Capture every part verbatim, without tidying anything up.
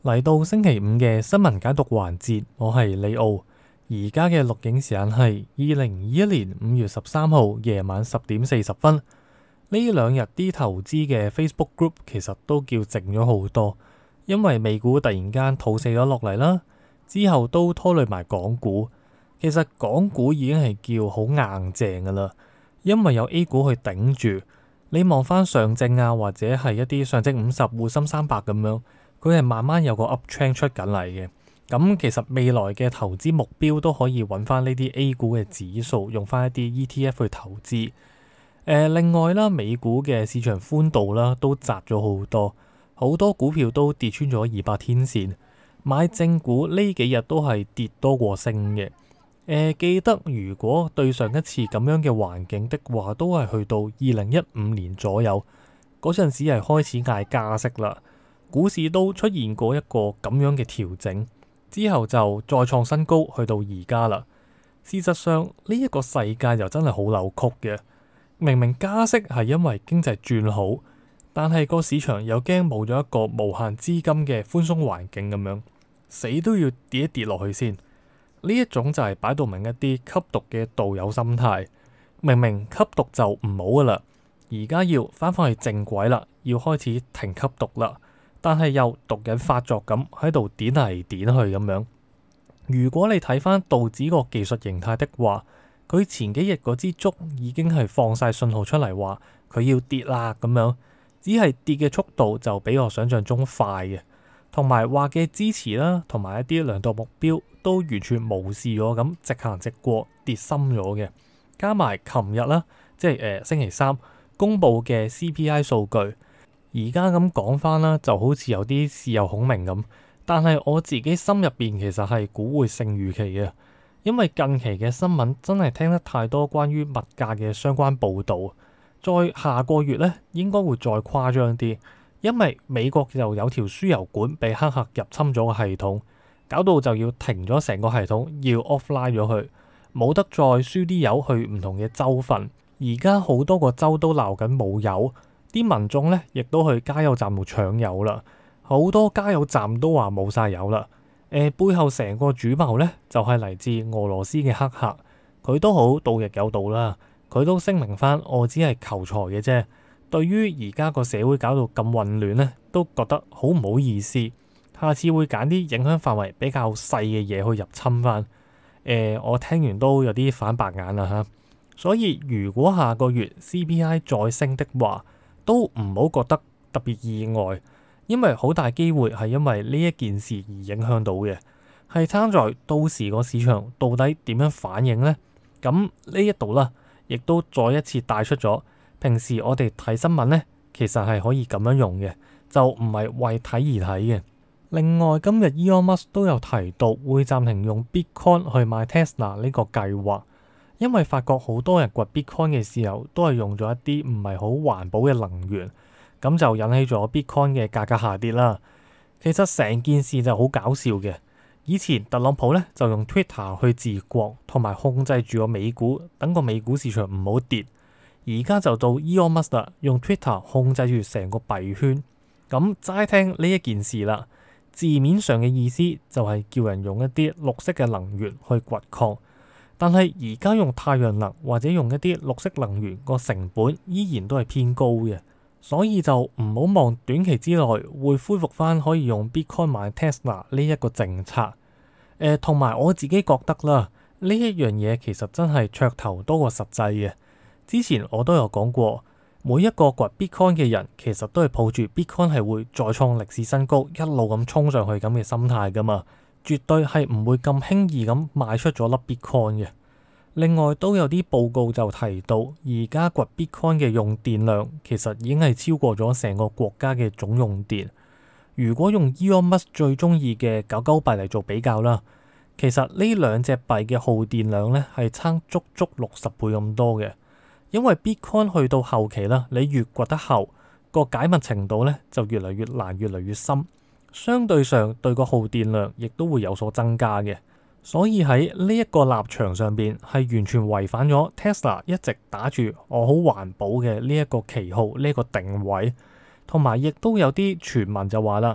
嚟到星期五嘅新聞解讀環節，我係李奧。而家嘅錄影時間係二零二一年五月十三號夜晚十點四十分。呢兩日啲投資嘅 Facebook group 其實都叫靜咗好多，因為美股突然間吐瀉咗落嚟啦，之後都拖累埋港股。其實港股已經係叫好硬淨噶啦，因為有 A 股去頂住。你望翻上證啊，或者係一啲上證五十、滬深三百咁樣。佢係慢慢有個 up trend 出緊嚟嘅，咁其實未來嘅投資目標都可以揾翻呢啲 A 股嘅指數，用翻一啲 E T F 去投資。呃、另外啦，美股嘅市場寬度啦都窄咗好多，好多股票都跌穿咗二百天線。買正股呢幾日都係跌多過升嘅。呃、記得如果對上一次咁樣嘅環境的話，都係去到二零一五年左右嗰陣時係開始嗌加息啦。股市都出現過一個咁樣嘅調整，之後就再創新高，去到而家啦。事實上呢一個世界又真係好扭曲嘅，明明加息係因為經濟轉好，但係個市場又驚冇咗一個無限資金嘅寬鬆環境咁樣，死都要跌一跌落去先。呢一種就係擺到明一啲吸毒嘅道友心態，明明吸毒就唔好噶啦，而家要翻返去正軌啦，要開始停吸毒啦。但係又毒癮發作咁喺度點嚟點去咁樣。如果你睇翻道指個技術形態的話，佢前幾日嗰支燭已經係放晒信號出嚟話佢要跌啦咁樣，只係跌嘅速度就比我想象中快嘅，同埋話嘅支持啦，同埋一啲量度目標都完全無視咗咁，直行直過跌深咗嘅。加埋琴日啦，即係誒、呃、星期三公布嘅 C P I 數據。而家咁講翻啦，就好似有啲事有孔明咁，但係我自己心入邊其實係估會勝預期嘅，因為近期嘅新聞真係聽得太多關於物價嘅相關報導。再下個月呢，應該會再誇張啲，因為美國就有條輸油管被黑客入侵咗個系統，搞到就要停咗成個系統，要 offline 咗佢，冇得再輸啲油去唔同嘅州份。而家好多個州都鬧緊冇油。啲民眾咧，亦都去加油站度搶油啦。好多加油站都話冇晒油啦。誒、呃，背後成個主謀咧，就係、是、嚟自俄羅斯嘅黑客。佢都好盜亦有道啦。佢都聲明翻，我只係求財嘅啫。對於而家個社會搞到咁混亂咧，都覺得好唔好意思。下次會揀啲影響範圍比較細嘅嘢去入侵翻。誒、呃，我聽完都有啲反白眼啦嚇。所以如果下個月 C P I 再升的話，都唔好覺得特別意外，因為好大機會係因為呢一件事而影響到嘅，係參在到時個市場到底點樣反應呢？咁呢一度啦，亦都再一次帶出咗平時我哋睇新聞呢，其實係可以咁樣用嘅，就唔係為睇而睇嘅。另外今日 Elon Musk 都有提到會暫停用 Bitcoin 去買 Tesla 呢個計劃。因為發覺好多人掘 Bitcoin 嘅時候都係用咗一啲唔係好環保嘅能源，咁就引起咗 Bitcoin 嘅價格下跌啦。其實成件事就好搞笑嘅。以前特朗普咧就用 Twitter 去治國，同埋控制住個美股，等個美股市場唔好跌。而家就到 Elon Musk 啦，用 Twitter 控制住成個幣圈。咁齋聽呢一件事啦，字面上嘅意思就係叫人用一啲綠色嘅能源去掘礦。但係而家用太陽能或者用一啲綠色能源個成本依然都係偏高嘅，所以就唔好望短期之內會恢復翻可以用 Bitcoin 買 Tesla 呢一個政策。誒，同埋我自己覺得啦，呢一樣嘢其實真係噱頭多過實際嘅。之前我都有講過，每一個掘 Bitcoin 嘅人其實都係抱住 Bitcoin 係會再創歷史新高，一路咁衝上去咁嘅心態噶嘛。絕對係唔會咁輕易咁賣出咗粒 Bitcoin 嘅。另外都有啲報告就提到，而家掘 Bitcoin 嘅用電量其實已經係超過咗成個國家嘅總用電。如果用 Elon Musk 最中意嘅狗狗幣嚟做比較啦，其實呢兩隻幣嘅耗電量咧係差足足六十倍咁多嘅。因為 Bitcoin 去到後期啦，你越掘得厚，個解密程度咧就越嚟越難，越嚟越深。相對上對個耗電量亦都會有所增加嘅，所以喺呢一個立場上邊係完全違反咗 Tesla 一直打住我好環保嘅呢一個旗號，呢一個定位。同埋亦都有啲傳聞就話啦，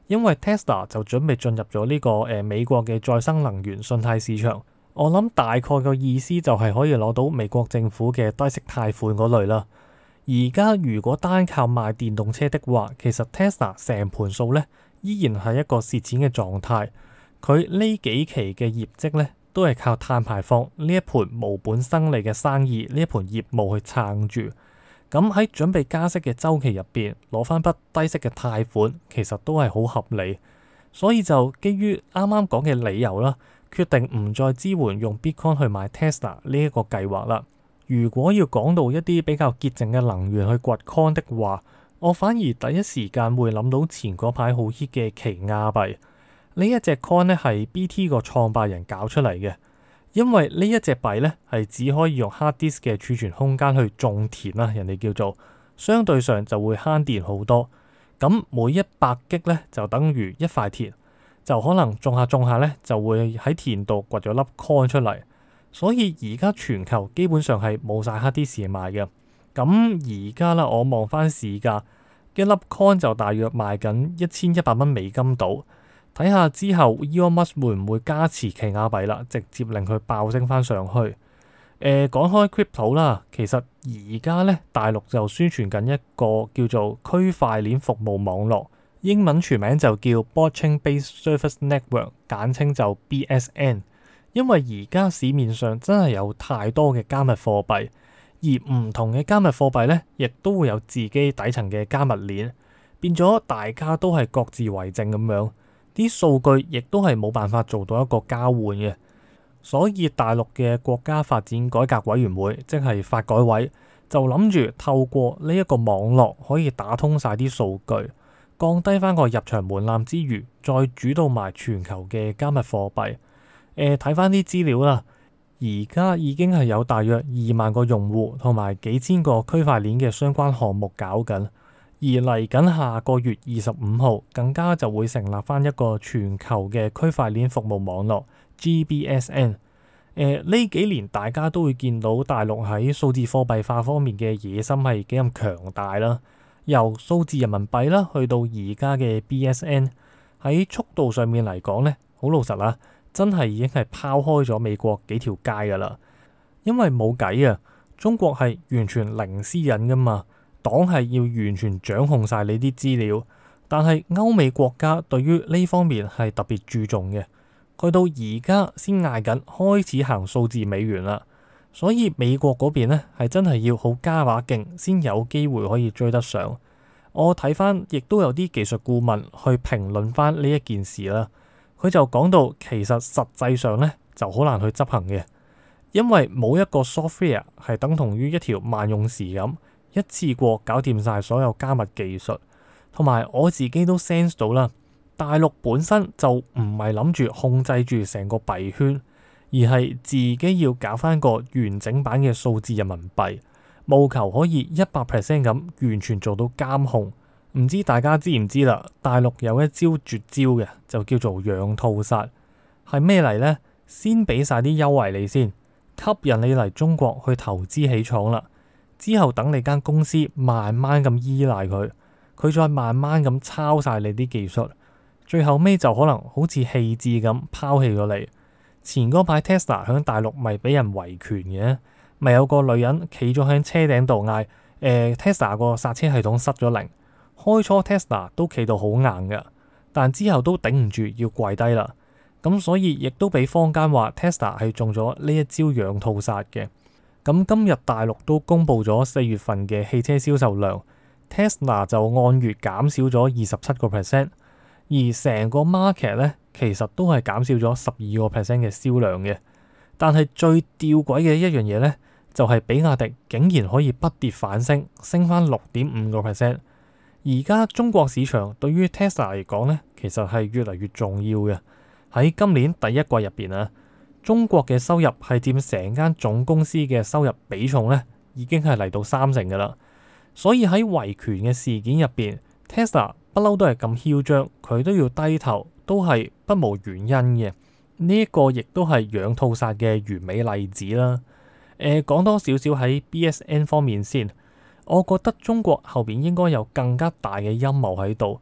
因為 Tesla 就準備進入咗呢、這個誒、呃、美國嘅再生能源信貸市場。我諗大概個意思就係可以攞到美國政府嘅低息貸款嗰類啦。而家如果單靠賣電動車的話，其實 Tesla 成盤數咧依然係一個蝕錢嘅狀態。佢呢幾期嘅業績咧都係靠碳排放呢一盤無本生利嘅生意，呢一盤業務去撐住。咁喺準備加息嘅週期入邊攞翻筆低息嘅貸款，其實都係好合理。所以就基於啱啱講嘅理由啦，決定唔再支援用 Bitcoin 去買 Tesla 呢一個計劃啦。如果要講到一啲比較潔淨嘅能源去掘 Coin 的話，我反而第一時間會諗到前嗰排好 hit 嘅奇亞幣。呢一隻 coin 咧係 B T 個創辦人搞出嚟嘅，因為呢一隻幣咧係只可以用 hard disk 嘅儲存空間去種田啦，人哋叫做相對上就會慳電好多。咁每一百 G 咧就等於一塊田，就可能種下種下咧就會喺田度掘咗粒 coin 出嚟。所以而家全球基本上係冇晒 hard disk 賣嘅。咁而家啦，我望翻市價，一粒 coin 就大約賣緊一千一百蚊美金度。睇下之後 Elon Musk 會唔會加持奇亞幣啦，直接令佢爆升翻上去。誒、呃，講開 crypto 啦，其實而家咧大陸就宣傳緊一個叫做區塊鏈服務網絡，英文全名就叫 Blockchain Based Service Network， 簡稱就 B S N。因為而家市面上真係有太多嘅加密貨幣，而唔同嘅加密貨幣咧，亦都會有自己底層嘅加密鏈，變咗大家都係各自為政咁樣。啲數據亦都係冇辦法做到一個交換嘅，所以大陸嘅國家發展改革委員會，即係發改委，就諗住透過呢一個網絡可以打通晒啲數據，降低翻個入場門檻之餘，再主導埋全球嘅加密貨幣。誒、呃，睇翻啲資料啦，而家已經係有大約二萬個用戶同埋幾千個區塊鏈嘅相關項目搞緊。而嚟緊下個月二十五號，更加就會成立翻一個全球嘅區塊鏈服務網絡 G B S N。誒，呢幾年大家都會見到大陸喺數字貨幣化方面嘅野心係幾咁強大啦。由數字人民幣啦，去到而家嘅 B S N， 喺速度上面嚟講咧，好老實啦，真係已經係拋開咗美國幾條街噶啦。因為冇計啊，中國係完全零私隱噶嘛。黨係要完全掌控晒你啲資料，但係歐美國家對於呢方面係特別注重嘅，去到而家先嗌緊開始行數字美元啦，所以美國嗰邊呢係真係要好加把勁先有機會可以追得上。我睇翻亦都有啲技術顧問去評論翻呢一件事啦，佢就講到其實實際上呢就好難去執行嘅，因為冇一個 software 係等同於一條萬用匙咁。一次過搞掂晒所有加密技術，同埋我自己都 sense 到啦。大陸本身就唔係諗住控制住成個幣圈，而係自己要搞翻個完整版嘅數字人民幣，務求可以一百 percent 咁完全做到監控。唔知大家知唔知啦？大陸有一招絕招嘅，就叫做養套殺，係咩嚟呢？先俾晒啲優惠你先，吸引你嚟中國去投資起廠啦。之後等你間公司慢慢咁依賴佢，佢再慢慢咁抄晒你啲技術，最後尾就可能好似棄置咁拋棄咗你。前嗰排 Tesla 響大陸咪俾人維權嘅，咪有個女人企咗喺車頂度嗌，誒、呃、Tesla 個剎車系統失咗靈。開初 Tesla 都企到好硬噶，但之後都頂唔住要跪低啦。咁所以亦都俾坊間話 Tesla 係中咗呢一招養套殺嘅。咁今日大陸都公布咗四月份嘅汽車銷售量 ，Tesla 就按月減少咗二十七個 percent， 而成個 market 咧其實都係減少咗十二個 percent 嘅銷量嘅。但係最吊詭嘅一樣嘢咧，就係比亞迪竟然可以不跌反升，升翻六點五個 percent。而家中國市場對於 Tesla 嚟講咧，其實係越嚟越重要嘅。喺今年第一季入邊啊，中國嘅收入係佔成間總公司嘅收入比重咧，已經係嚟到三成噶啦。所以喺維權嘅事件入邊 ，Tesla 不嬲都係咁囂張，佢都要低頭，都係不無原因嘅。呢、這、一個亦都係養套殺嘅完美例子啦。誒、呃，講多少少喺 B S N 方面先，我覺得中國後邊應該有更加大嘅陰謀喺度，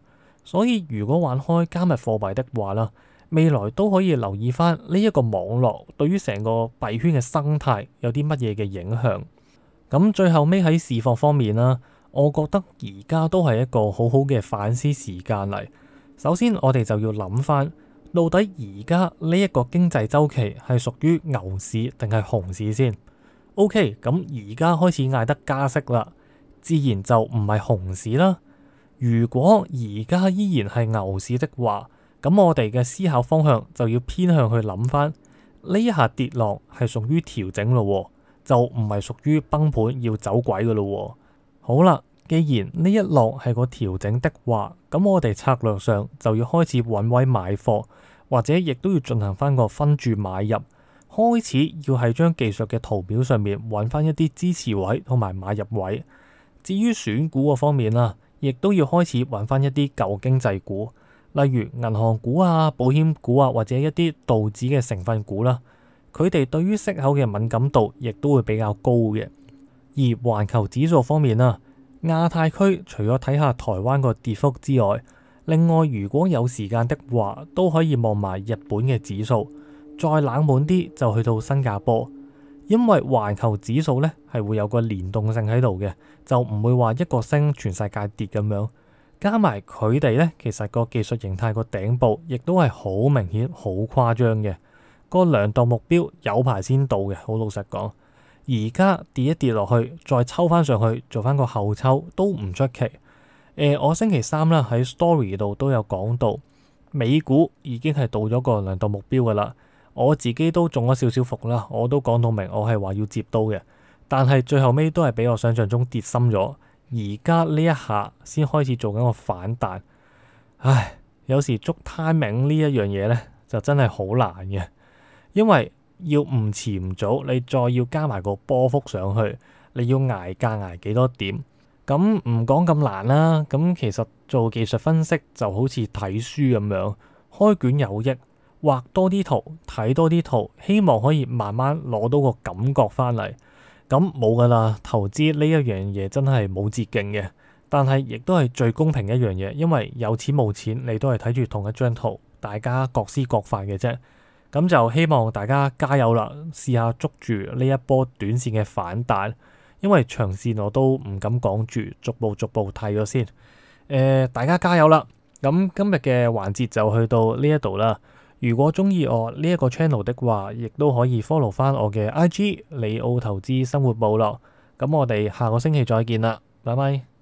所以如果玩開加密貨幣的話啦，未來都可以留意翻呢一個網絡對於成個幣圈嘅生態有啲乜嘢嘅影響。咁最後尾喺市況方面啦，我覺得而家都係一個好好嘅反思時間嚟。首先我哋就要諗翻，到底而家呢一個經濟週期係屬於牛市定係熊市先？OK，咁而家開始嗌得加息啦，自然就唔係熊市啦。如果而家依然係牛市的話，咁我哋嘅思考方向就要偏向去諗翻呢一下跌落係屬於調整咯，就唔係屬於崩盤要走鬼噶咯。好啦，既然呢一落係個調整的話，咁我哋策略上就要開始揾位買貨，或者亦都要進行翻個分注買入，開始要喺張技術嘅圖表上面揾翻一啲支持位同埋買入位。至於選股個方面啦，亦都要開始揾翻一啲舊經濟股，例如銀行股啊、保險股啊，或者一啲道指嘅成分股啦。佢哋對於息口嘅敏感度亦都會比較高嘅。而環球指數方面啦，亞太區除咗睇下台灣個跌幅之外，另外如果有時間的話，都可以望埋日本嘅指數。再冷門啲就去到新加坡，因為環球指數咧係會有個連動性喺度嘅，就唔會話一個升全世界跌咁樣。加埋佢哋咧，其實個技術形態個頂部亦都係好明顯、好誇張嘅。個量度目標有排先到嘅，好老實講。而家跌一跌落去，再抽翻上去，做翻個後抽都唔出奇。誒、呃，我星期三啦喺 story 度都有講到，美股已經係到咗個量度目標噶啦。我自己都中咗少少伏啦，我都講到明，我係話要接刀嘅，但係最後尾都係比我想象中跌深咗。而家呢一下先開始做緊個反彈，唉，有時捉 timing 呢一樣嘢呢，就真係好難嘅，因為要唔遲唔早，你再要加埋個波幅上去，你要捱價捱幾多點？咁唔講咁難啦，咁其實做技術分析就好似睇書咁樣，開卷有益。畫多啲圖，睇多啲圖，希望可以慢慢攞到個感覺翻嚟。咁冇噶啦，投資呢一樣嘢真係冇捷徑嘅，但係亦都係最公平一樣嘢，因為有錢冇錢，你都係睇住同一張圖，大家各施各法嘅啫。咁就希望大家加油啦，試下捉住呢一波短線嘅反彈，因為長線我都唔敢講住，逐步逐步睇咗先。誒、呃，大家加油啦！咁今日嘅環節就去到呢一度啦。如果中意我呢一個 channel 的話，亦都可以 follow 翻我嘅 I G 李奧投資生活部落。咁我哋下個星期再見啦，拜拜。